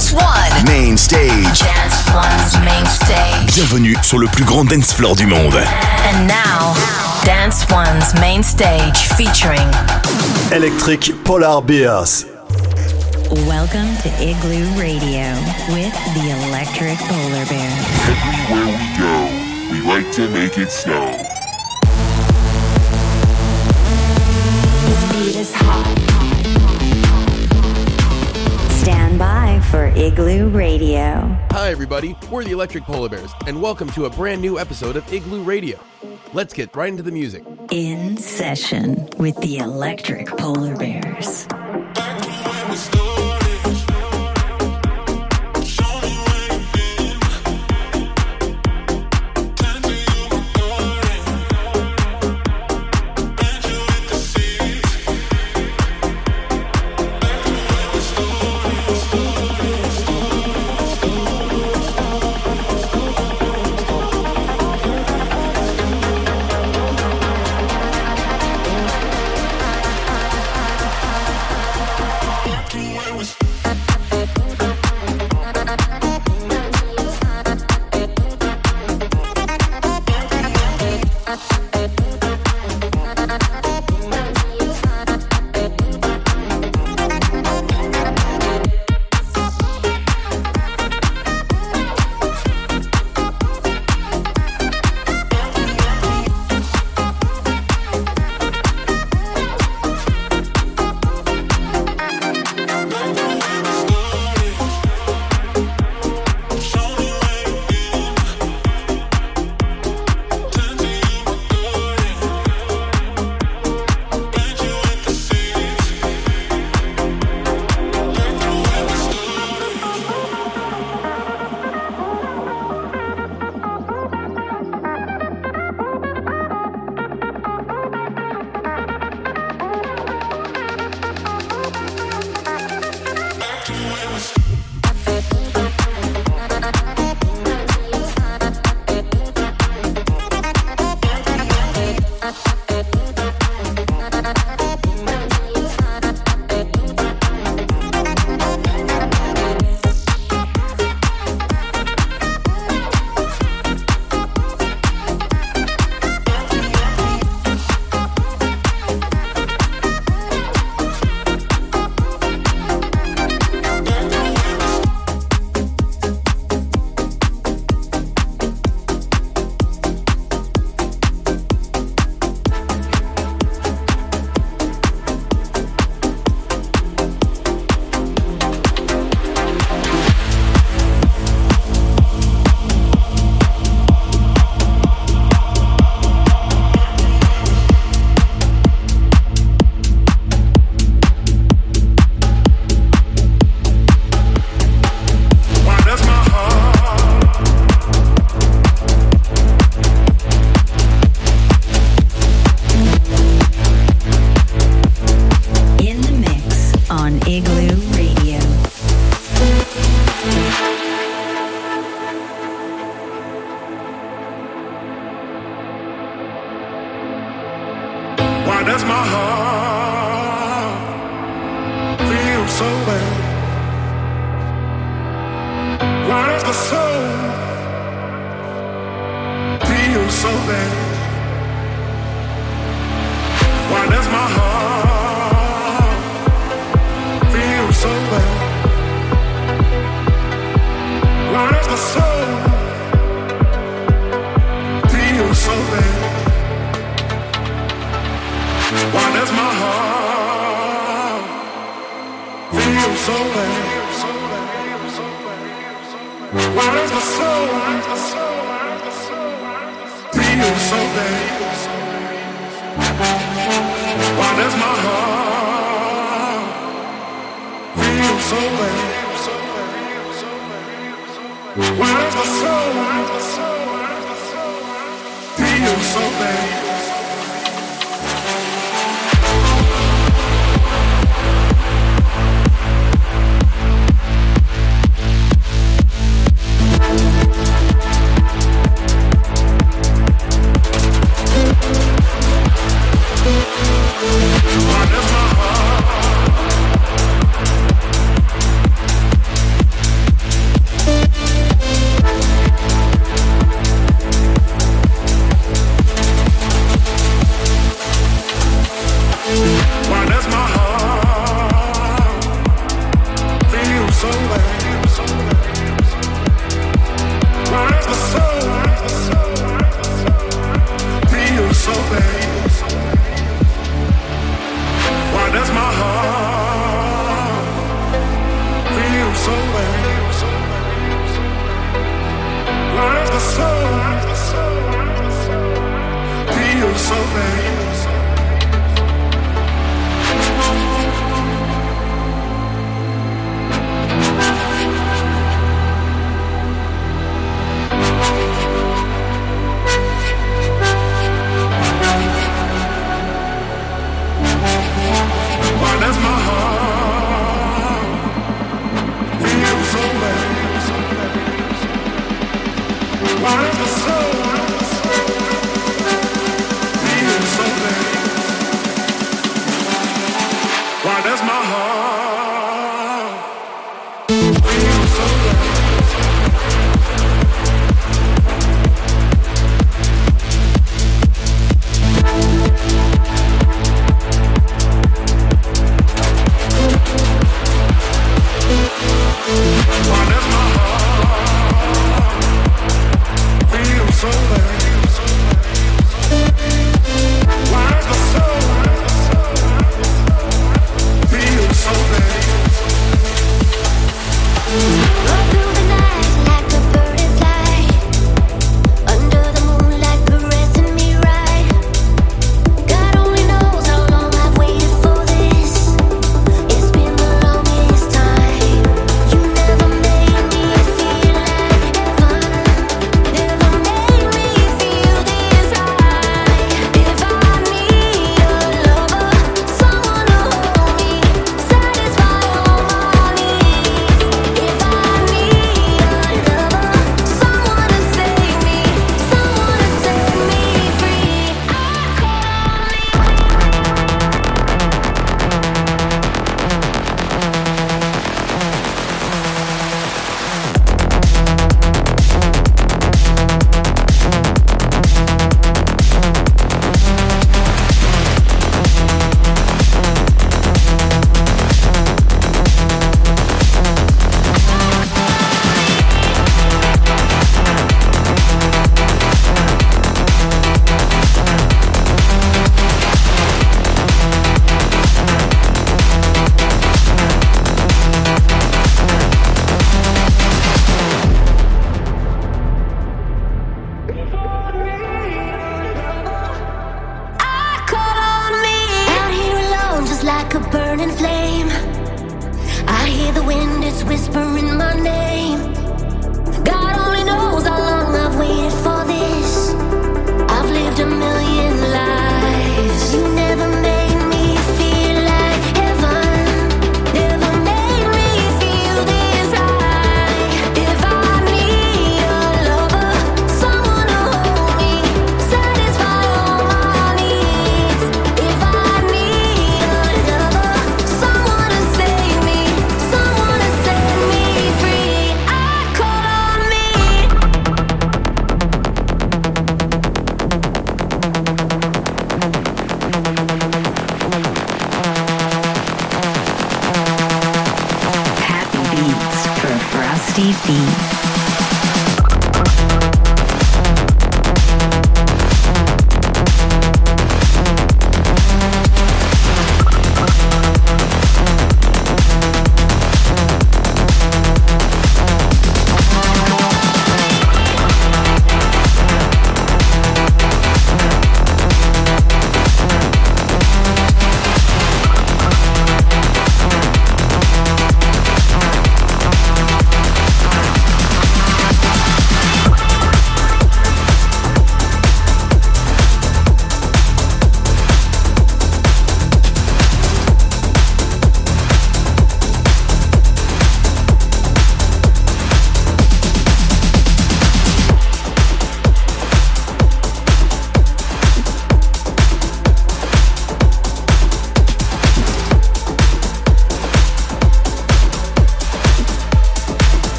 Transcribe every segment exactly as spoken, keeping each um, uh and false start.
Dance One. Main Stage. Dance One's Main Stage. Bienvenue sur le plus grand dance floor du monde. And now, Dance One's Main Stage featuring Electric Polar Bears. Welcome to Igloo Radio with the Electric Polar Bear. Everywhere we go, we like to make it snow. This beat is hot. Stand by for Igloo Radio. Hi everybody, we're the Electric Polar Bears, and welcome to a brand new episode of Igloo Radio. Let's get right into the music. In session with the Electric Polar Bears.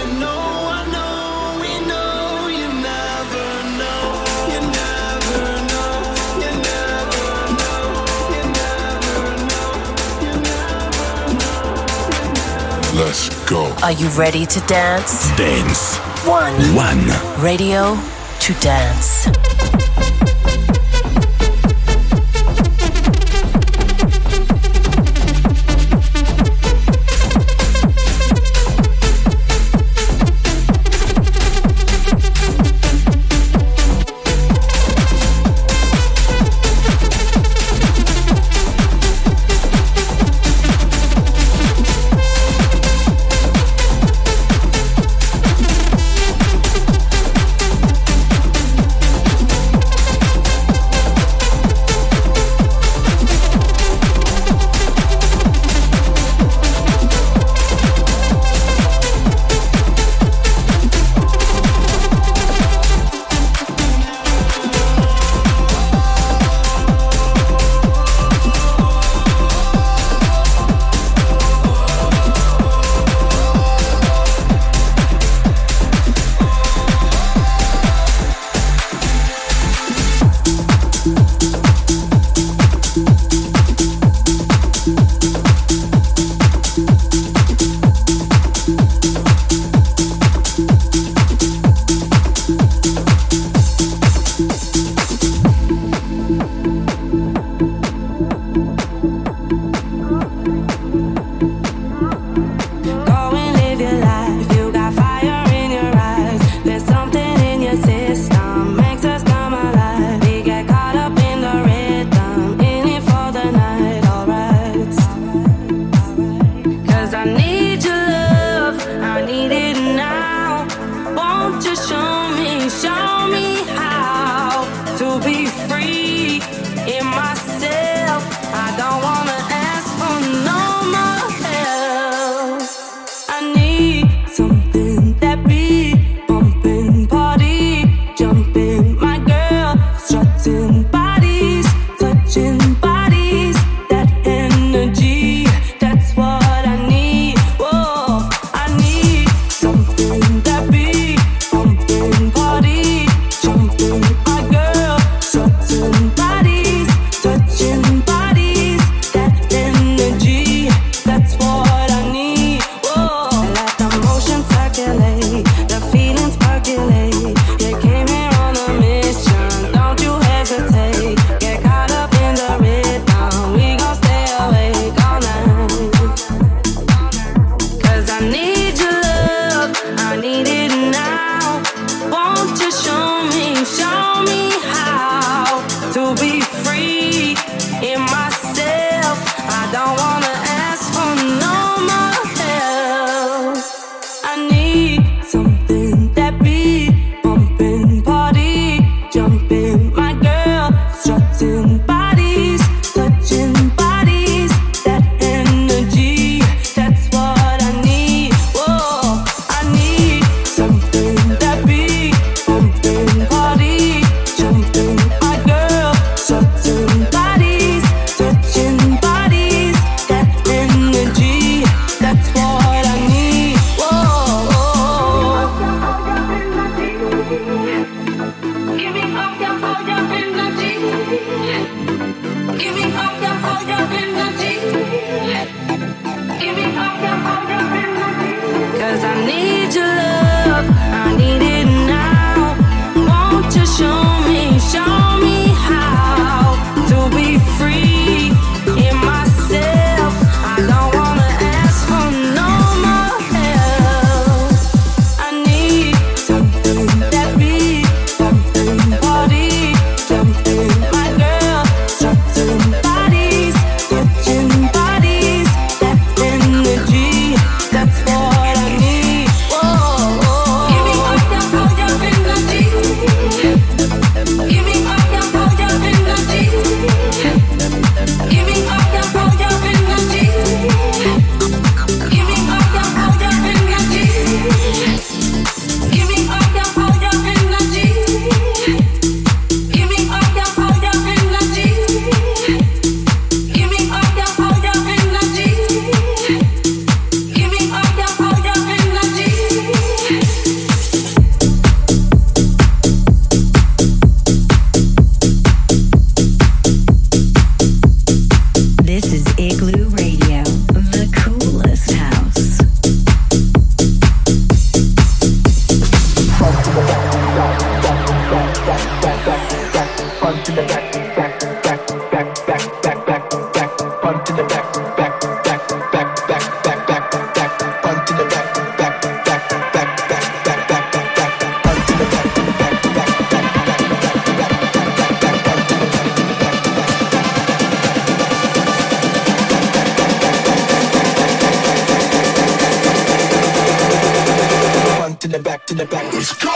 Let's go. Are you ready to dance? Dance One. One. Radio to dance. to the back, to the back. Let's go!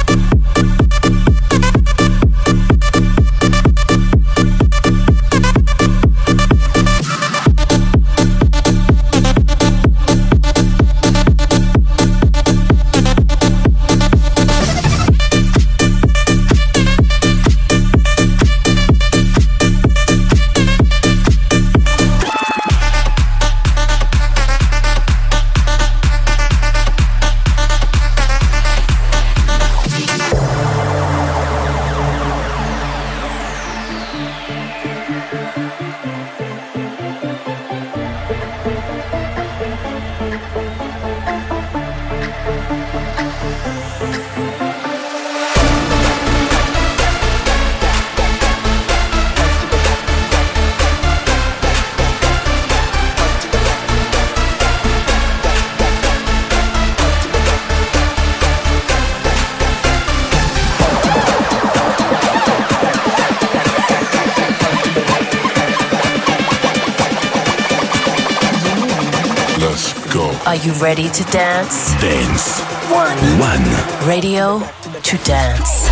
Are you ready to dance? Dance One. One. Radio to dance.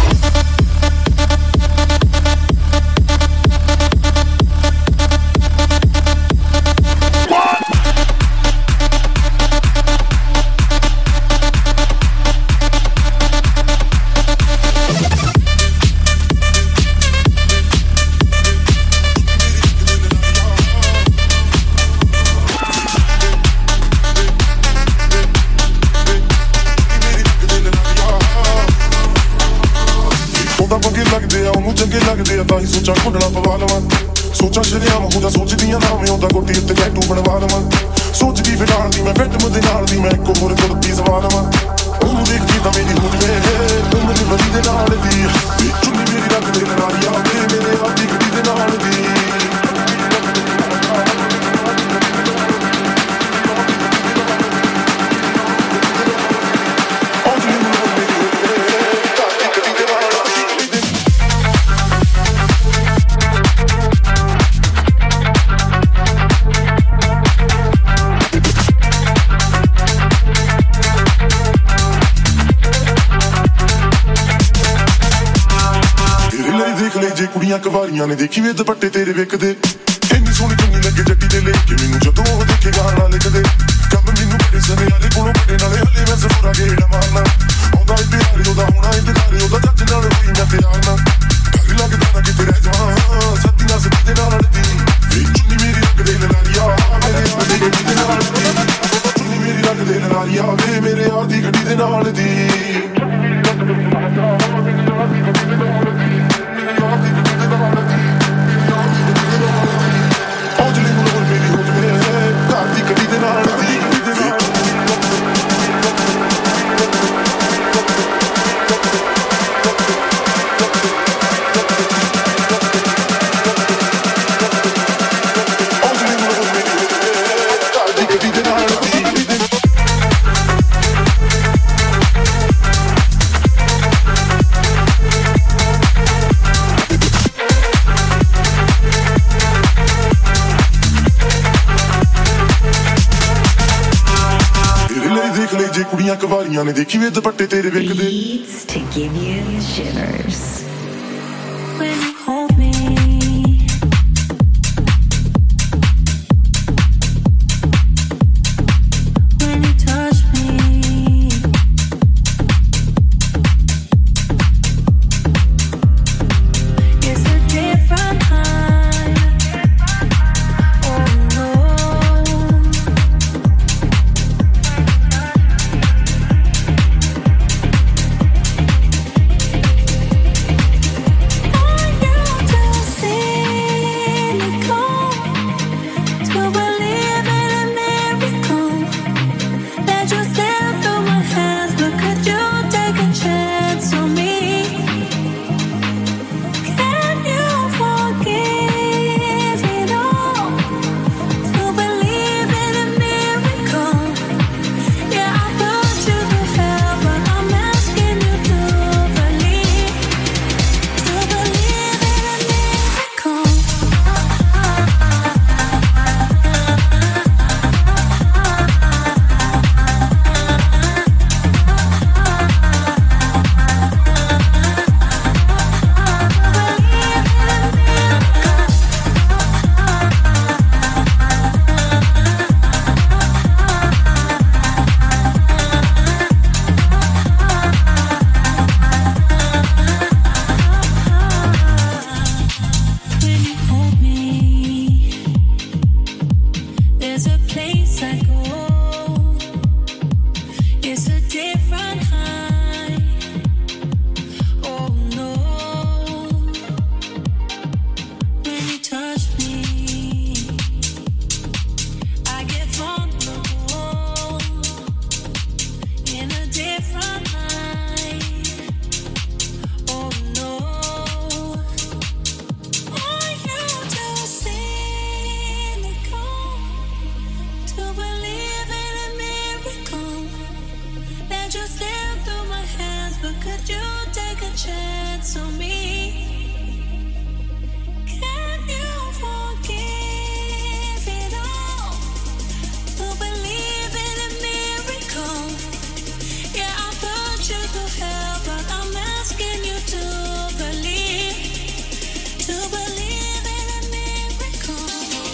ਸੋਚਾਂ ਖੁੱਲਣਾ ਪਵਾ ਲਵਾਂ ਸੋਚਾਂ ਸ਼ਰਿਆਮ ਹੋ ਜਾ ਸੋਚਦੀਆਂ ਨਾ ਮੈਂ ਉਹਦਾ ਕੋਟੀ ਉੱਤੇ ਟੈਟੂ ਬਣਵਾ ਲਵਾਂ ਸੋਚਦੀ ਫਿਰ ਨਾਲ ਦੀ ਮੈਂ ਬੈਠ ਮੁੱਦੇ ਨਾਲ ਦੀ ਮੈਂ ਇੱਕ ਹੋਰ ਕੁੜਤੀ ਸਵਾ ਲਵਾਂ ਉਹਨੂੰ ਦੇਖਦੀ ਤਾਂ ਮੇਰੀ ਹੋ ਜਵੇ ਤੂੰ ਮੇਰੀ ਬੜੀ ਦੇ ਨਾਲ ਦੀ ਚੁੰਨੀ ਮੇਰੀ ਰੱਖ ਦੇ ਨਾਲ ਯਾਰ ਮੇਰੇ ਆਪਦੀ ਗੱਡੀ ਦੇ ਨਾਲ ਦੀ ਕੁੜੀਆਂ ਕਵਾਰੀਆਂ ਨੇ ਦੇਖੀ ਵੇ ਦੁਪੱਟੇ ਤੇਰੇ ਵੇਖਦੇ ਇੰਨੀ ਸੋਹਣੀ ਚੁੰਨੀ ਲੱਗੇ ਜੱਟੀ ਦੇ ਲੈ ਕੇ ਮੈਨੂੰ ਜਦੋਂ ਉਹ ਦੇਖੇ ਗਾਣਾ ਲਿਖਦੇ ਕੰਮ ਮੈਨੂੰ ਬੜੇ ਸਨੇ ਵਾਲੇ ਕੋਲੋਂ ਬੜੇ ਨਾਲੇ ਹਲੇ ਮੈਂ ਜ਼ਰੂਰ ਆਗੇ ਹੀੜਾ ਮਾਰਨਾ ਆਉਂਦਾ ਈ ਪਿਆਰ ਉਹਦਾ ਹੋਣਾ ਈ ਪਿਆਰ ਉਹਦਾ ਜੱਜ ਨਾਲ ਹੋਈ ਮੈਂ ਪਿਆਰ ਨਾ ਡਰ ਲੱਗਦਾ ਨਾ ਕਿਤੇ ਰਹਿ ਜਾਵਾਂ ਸੱਤੀ ਨਾਲ ਸੱਤੀ ਦੇ ਨਾਲ ਦੀ ਚੁੰਨੀ ਮੇਰੀ ਰੱਖ ਦੇ ਲਾਰੀਆ ਮੇਰੇ ਆਪਦੀ ਗੱਡੀ ਦੇ ਨਾਲ ਦੀ ਚੁੰਨੀ ਮੇਰੀ ਰੱਖ ਦੇ ਲਾਰੀਆ ਮੇਰੇ ਆਪਦੀ ਗੱਡੀ ਦੇ ਨਾਲ ਦੀ ਕੁੜੀਆਂ ਕਵਾਰੀਆਂ ਨੇ ਦੇਖੀ ਵੇ ਦੁਪੱਟੇ ਤੇਰੇ ਵੇਖਦੇ Beats to give you shivers. When you hold me when you touch me it's a different kind. Oh no. Oh different high. Oh no, when you touch me, I get vulnerable in a different high. Oh no, are you too cynical to believe in a miracle that just slip through my hands? But could you take a chance on me? Can you forgive it all to believe in a miracle? Yeah, I put you through hell, but I'm asking you to believe, to believe in a miracle.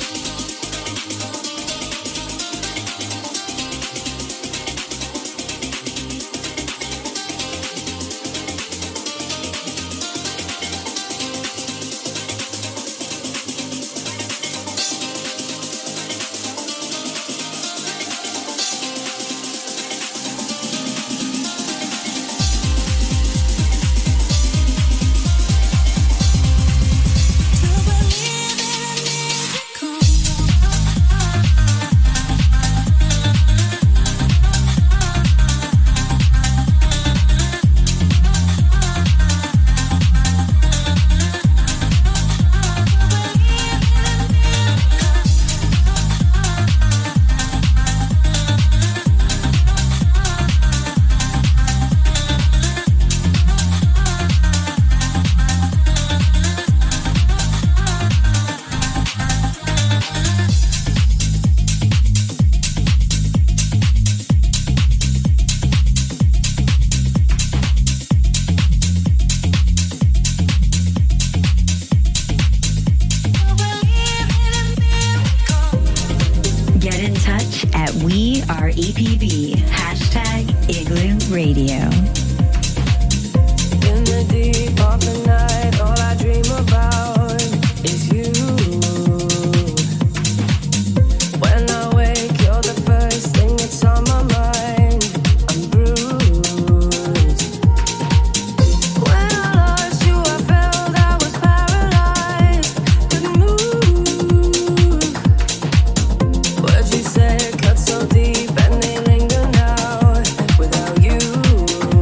To believe in a miracle. Get in touch at We Are E P B. Hashtag Igloo Radio. In the deep of the night, all I dream about is you. When I wake, you're the first thing that's on my mind. I'm bruised. When I lost you, I felt I was paralyzed, couldn't move. Words you said cut so deep and they linger now. Without you,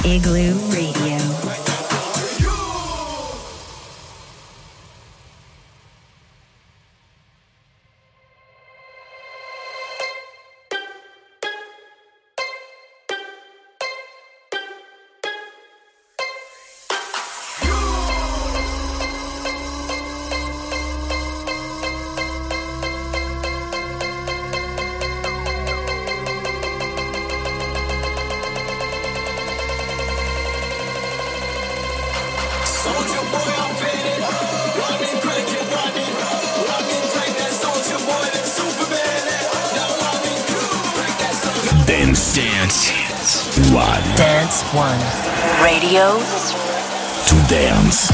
Igloo Radio. Dance. Dance. One. Dance One. Radio to dance.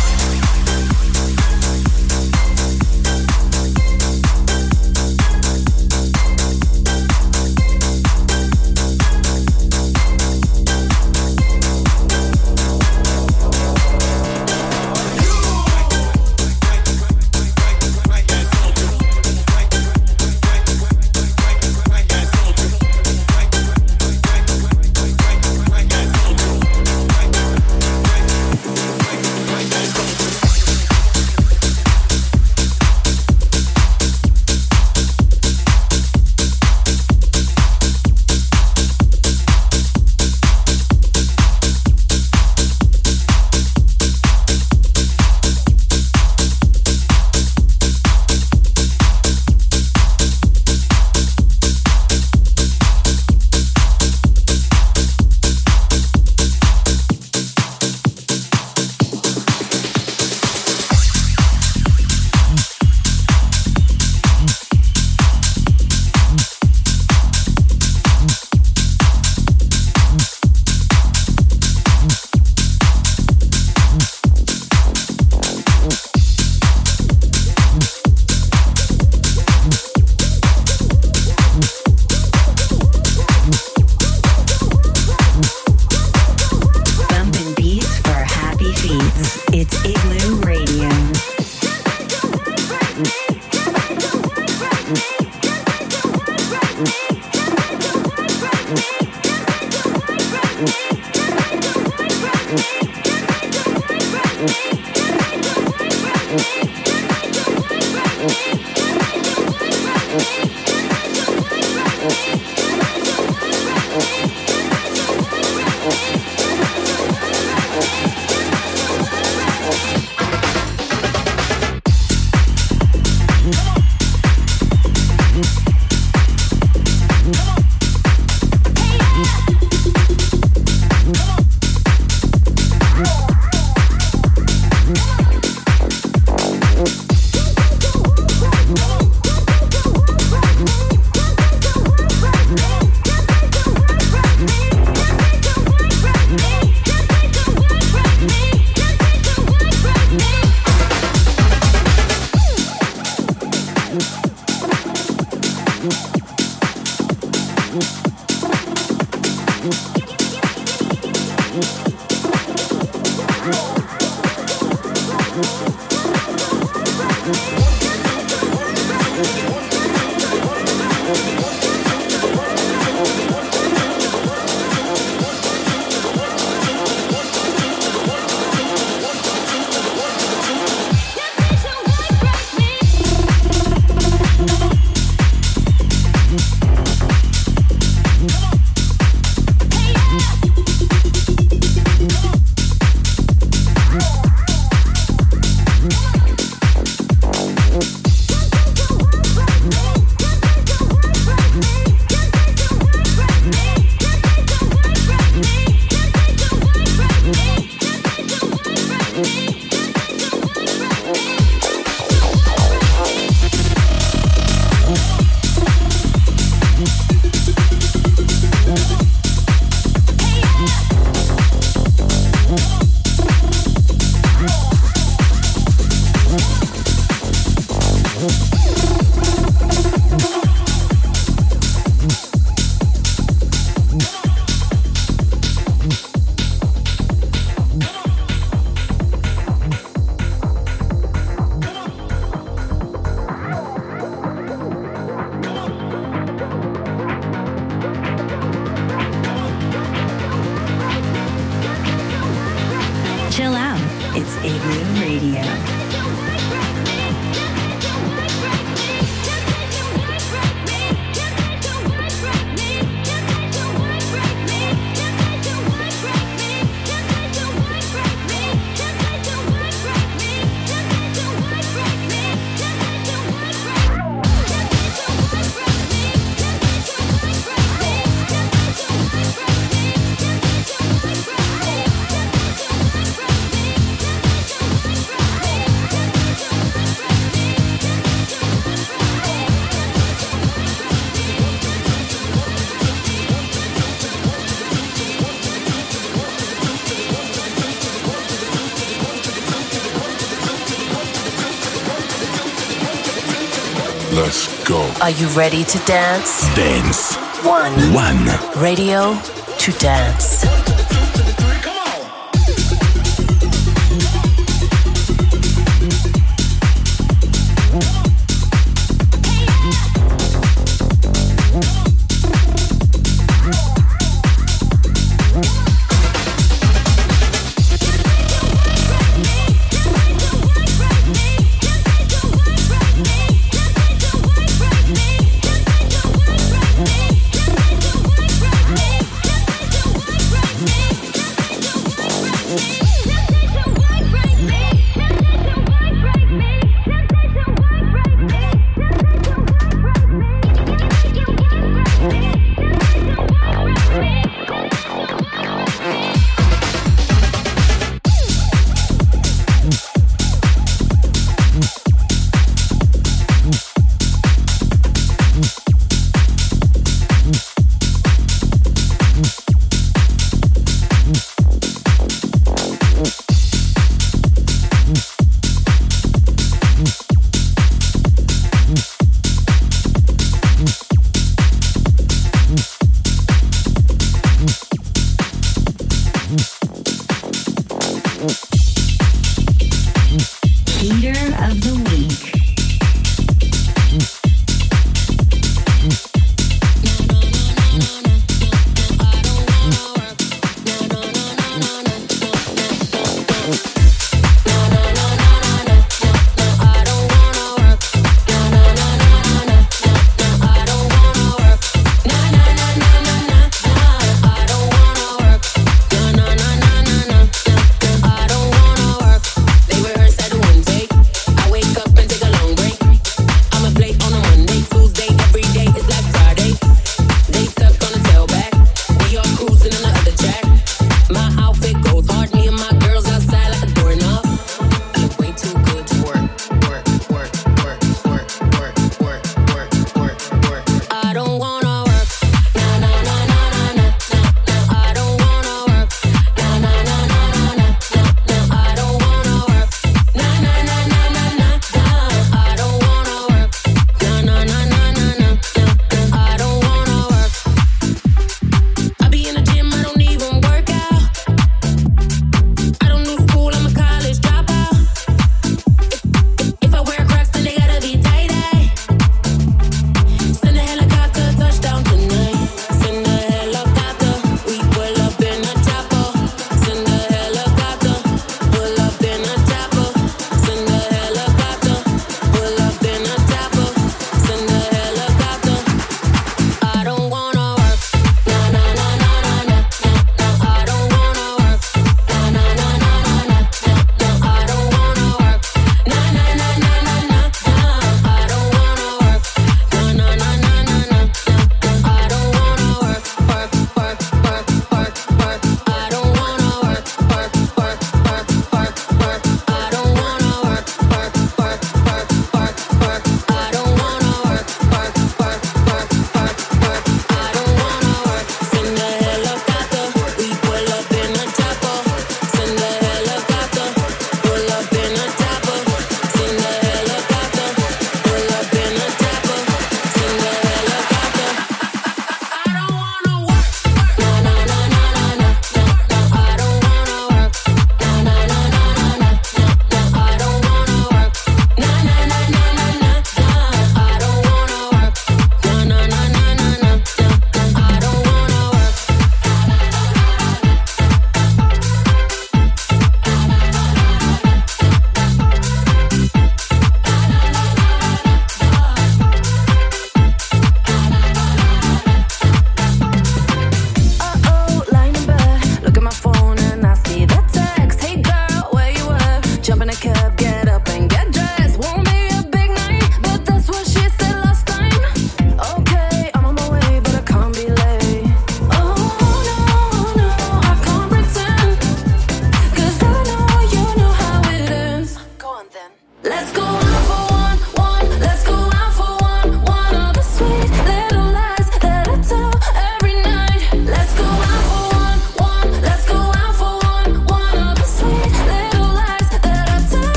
Let's go. Are you ready to dance? Dance One. One. Radio to dance.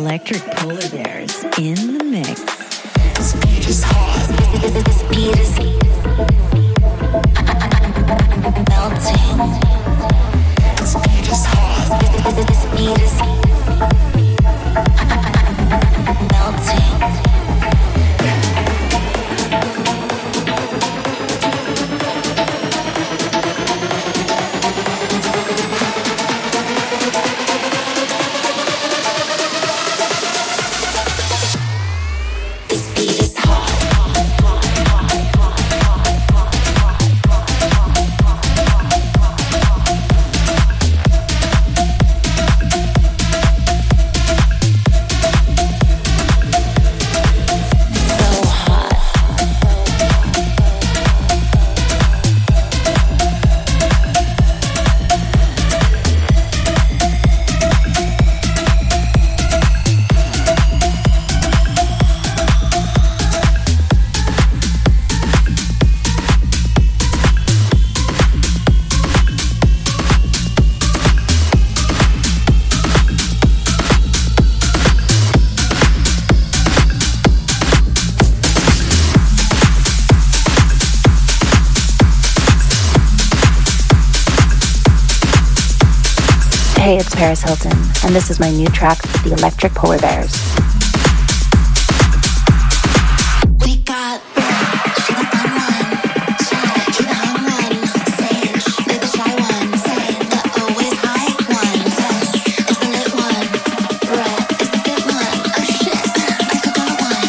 Electric Polar Bears in the mix. This beat is hot. This beat is melting. This beat is hot. This beat is melting. Hey, it's Paris Hilton, and this is my new track, The Electric Polar Bears. We got she the fun one, shy, she the hung one, sage, they the shy one, say the always high one, test is the lit one, Brett is the fit one, oh shit, I forgot one.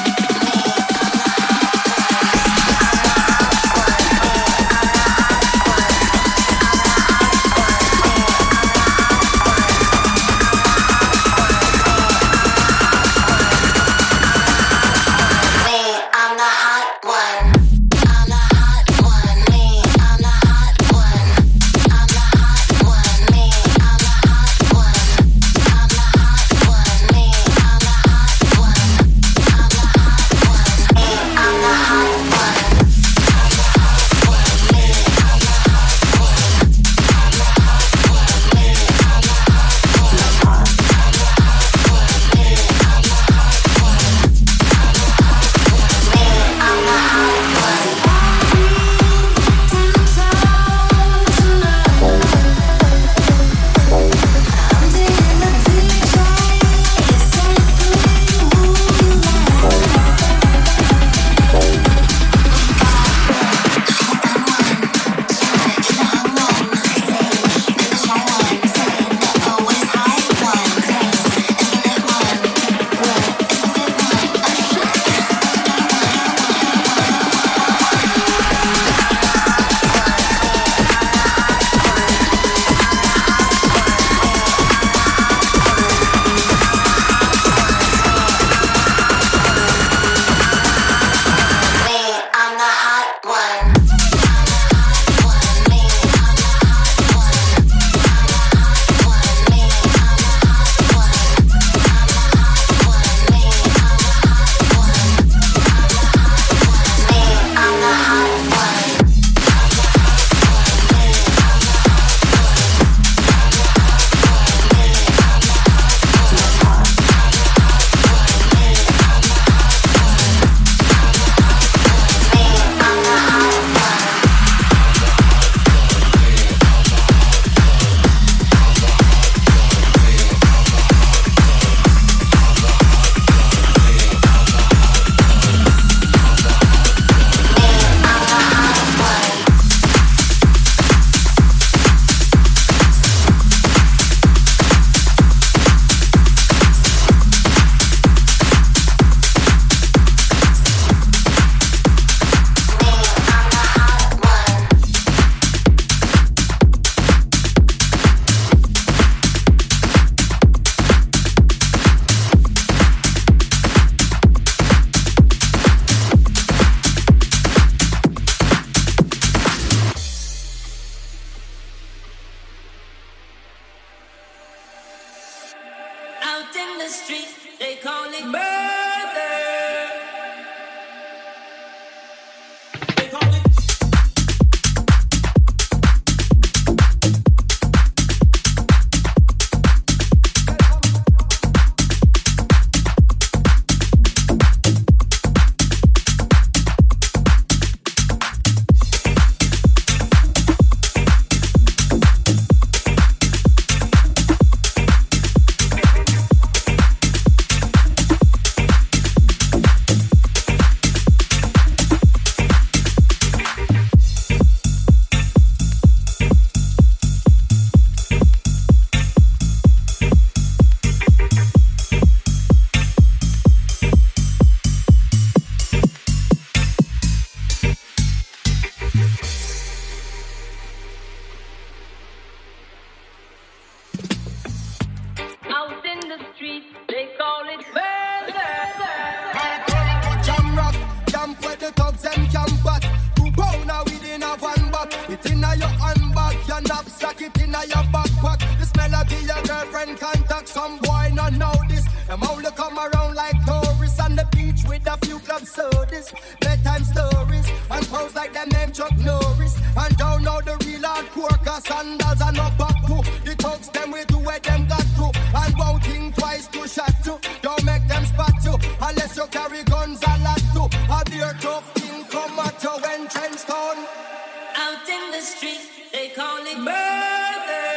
your backpack. This melody your girlfriend contact. Some boy not know this. Them only come around like tourists on the beach with a few club sodas, bedtime stories, and pose like them name Chuck Norris. And don't know the real hardcore, cause sandals are no back to. The thugs them way to where them got to, and won't think twice to shot to. Don't make them spot you, unless you carry guns a lot to. A beer tough thing come at you when trends down. Out in the street, they call it murder.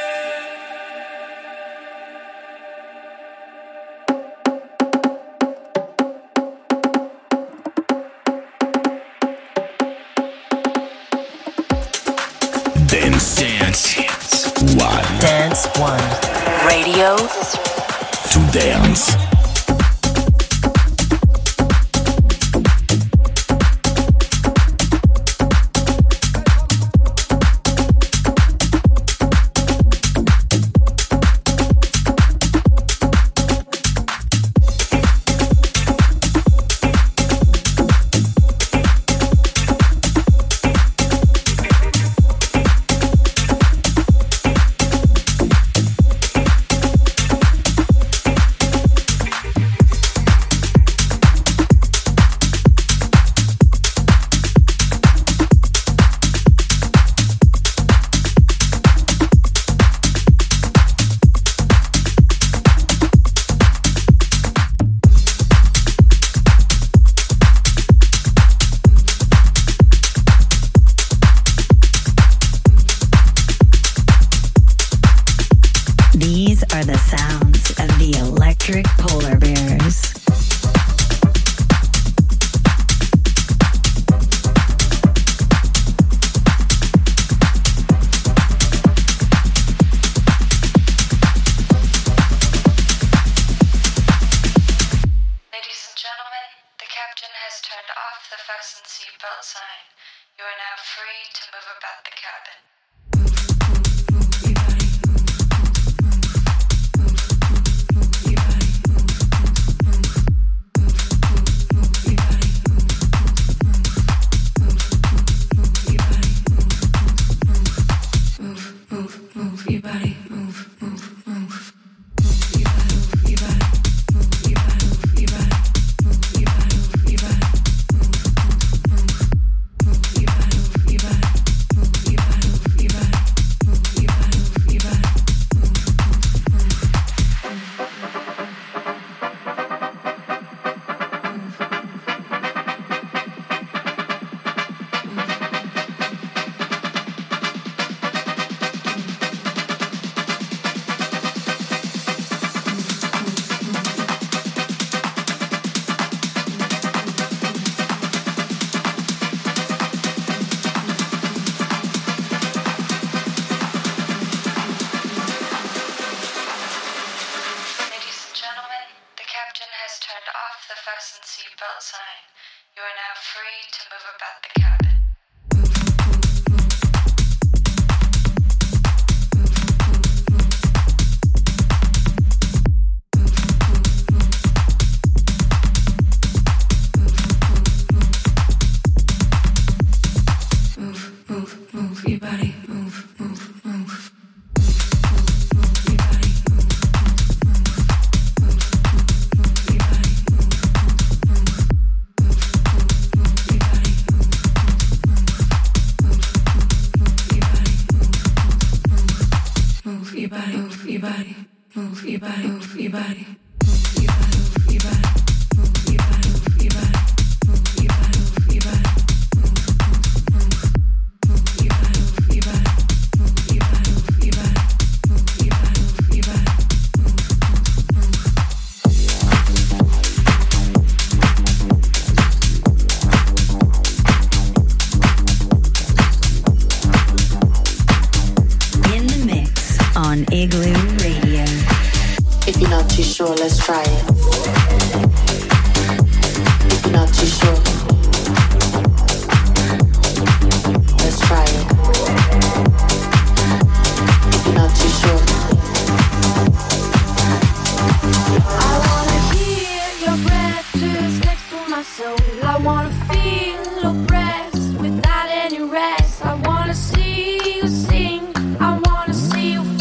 Dance, dance, one. Dance One. Radio To dance. Without any rest, I wanna see you sing. I wanna see you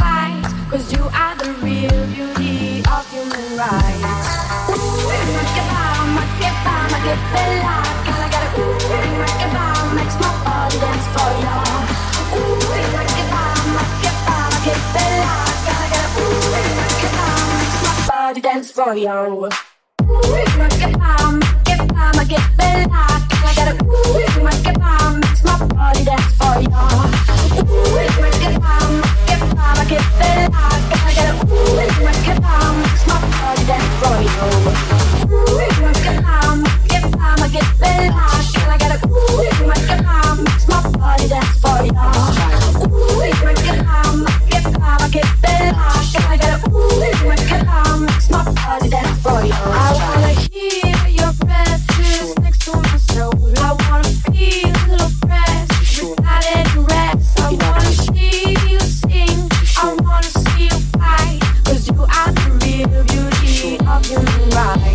right. Ooh, make it bomb, make it bomb, make it bella. Can I get a ooh, make it bomb, makes my body dance for ya. Ooh, make it bomb, make it bomb, make it bella. Can I get a ooh, make it bomb, makes my body dance for ya. Ooh, make it bomb, make it bomb, make it bella. Can I get a ooh, make it bomb, makes my body dance for ya. Ooh, make it bomb, make it bomb, make it bella. Can I get a ooh, make it bomb, makes my body dance for ya. Ooh, make it bomb, make it bomb, make it bella. Can I get a ooh, make it bomb, makes my body dance for ya. Ooh, make it bomb, make it bomb, make it bella. Can I get a ooh, make it bomb, makes my body dance for ya. I wanna hear your breath just next to my soul. I wanna feel your breath without any rest. I wanna see you sing, I wanna see you fight, 'cause you are the real beauty of human life.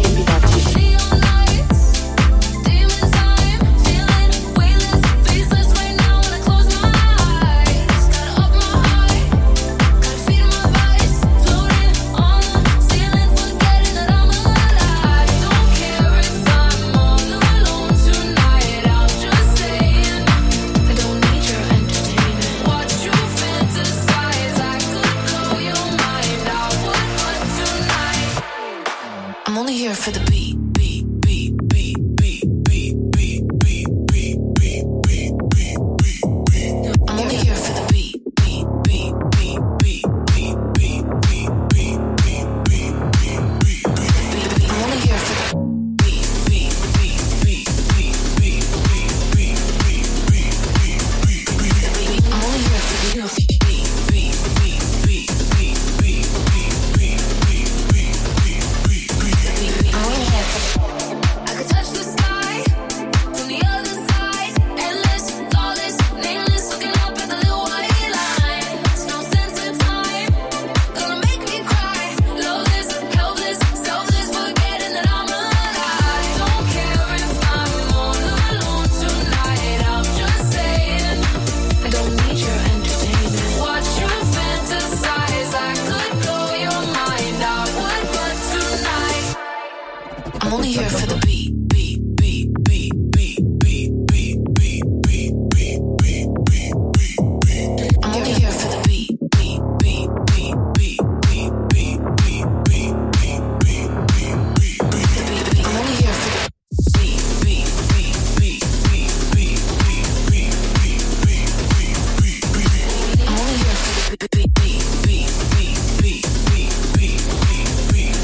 I'm only here for the beat, beat, beat, beat, beat, beat, beat, beat, beat, beat, beat, beat, beat. I'm only here for the beat, beat, beat, beat, beat, beat, beat, beat, beat, beat, beat, beat, beat. I'm only here for the beat, beat, beat, beat, beat, beat, beat, beat, beat, beat, beat, beat. I'm only here for the beat, beat, beat, beat, beat, beat, beat, beat, beat, beat, beat. I'm only here for I could touch the sky from the other side. Endless, flawless, nameless, looking up at the little white lines. No sense of time, gonna make me cry. Loveless, helpless, selfless, forgetting that I'm alive. Don't care if I'm all alone tonight. I'm just saying, I don't need your entertainment. Watch you fantasize, I could blow your mind. I would, but tonight I'm only here for the beat, beat, beat, beat, beat, beat, beat, beat, beat, beat, beat, beat, beat. I'm only here for the beat, beat, beat, beat, beat, beat, beat, beat, beat, beat, beat, beat, beat. I'm only here for the beat, beat, beat, beat, beat, beat, beat, beat, beat, beat, beat, beat. I'm only here for the beat, beat, beat, beat, beat, beat, beat, beat, beat,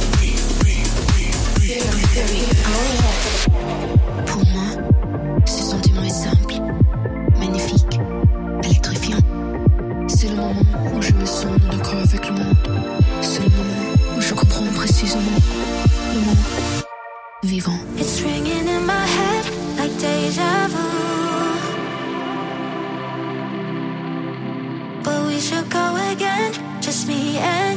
beat, beat. I'm only here for the Pour moi, ce sentiment est simple, magnifique, électrifiant. C'est le moment où je me sens en accord avec le monde. C'est le moment où je comprends précisément le monde vivant. It's ringing in my head like deja vu. But we should go again, just me and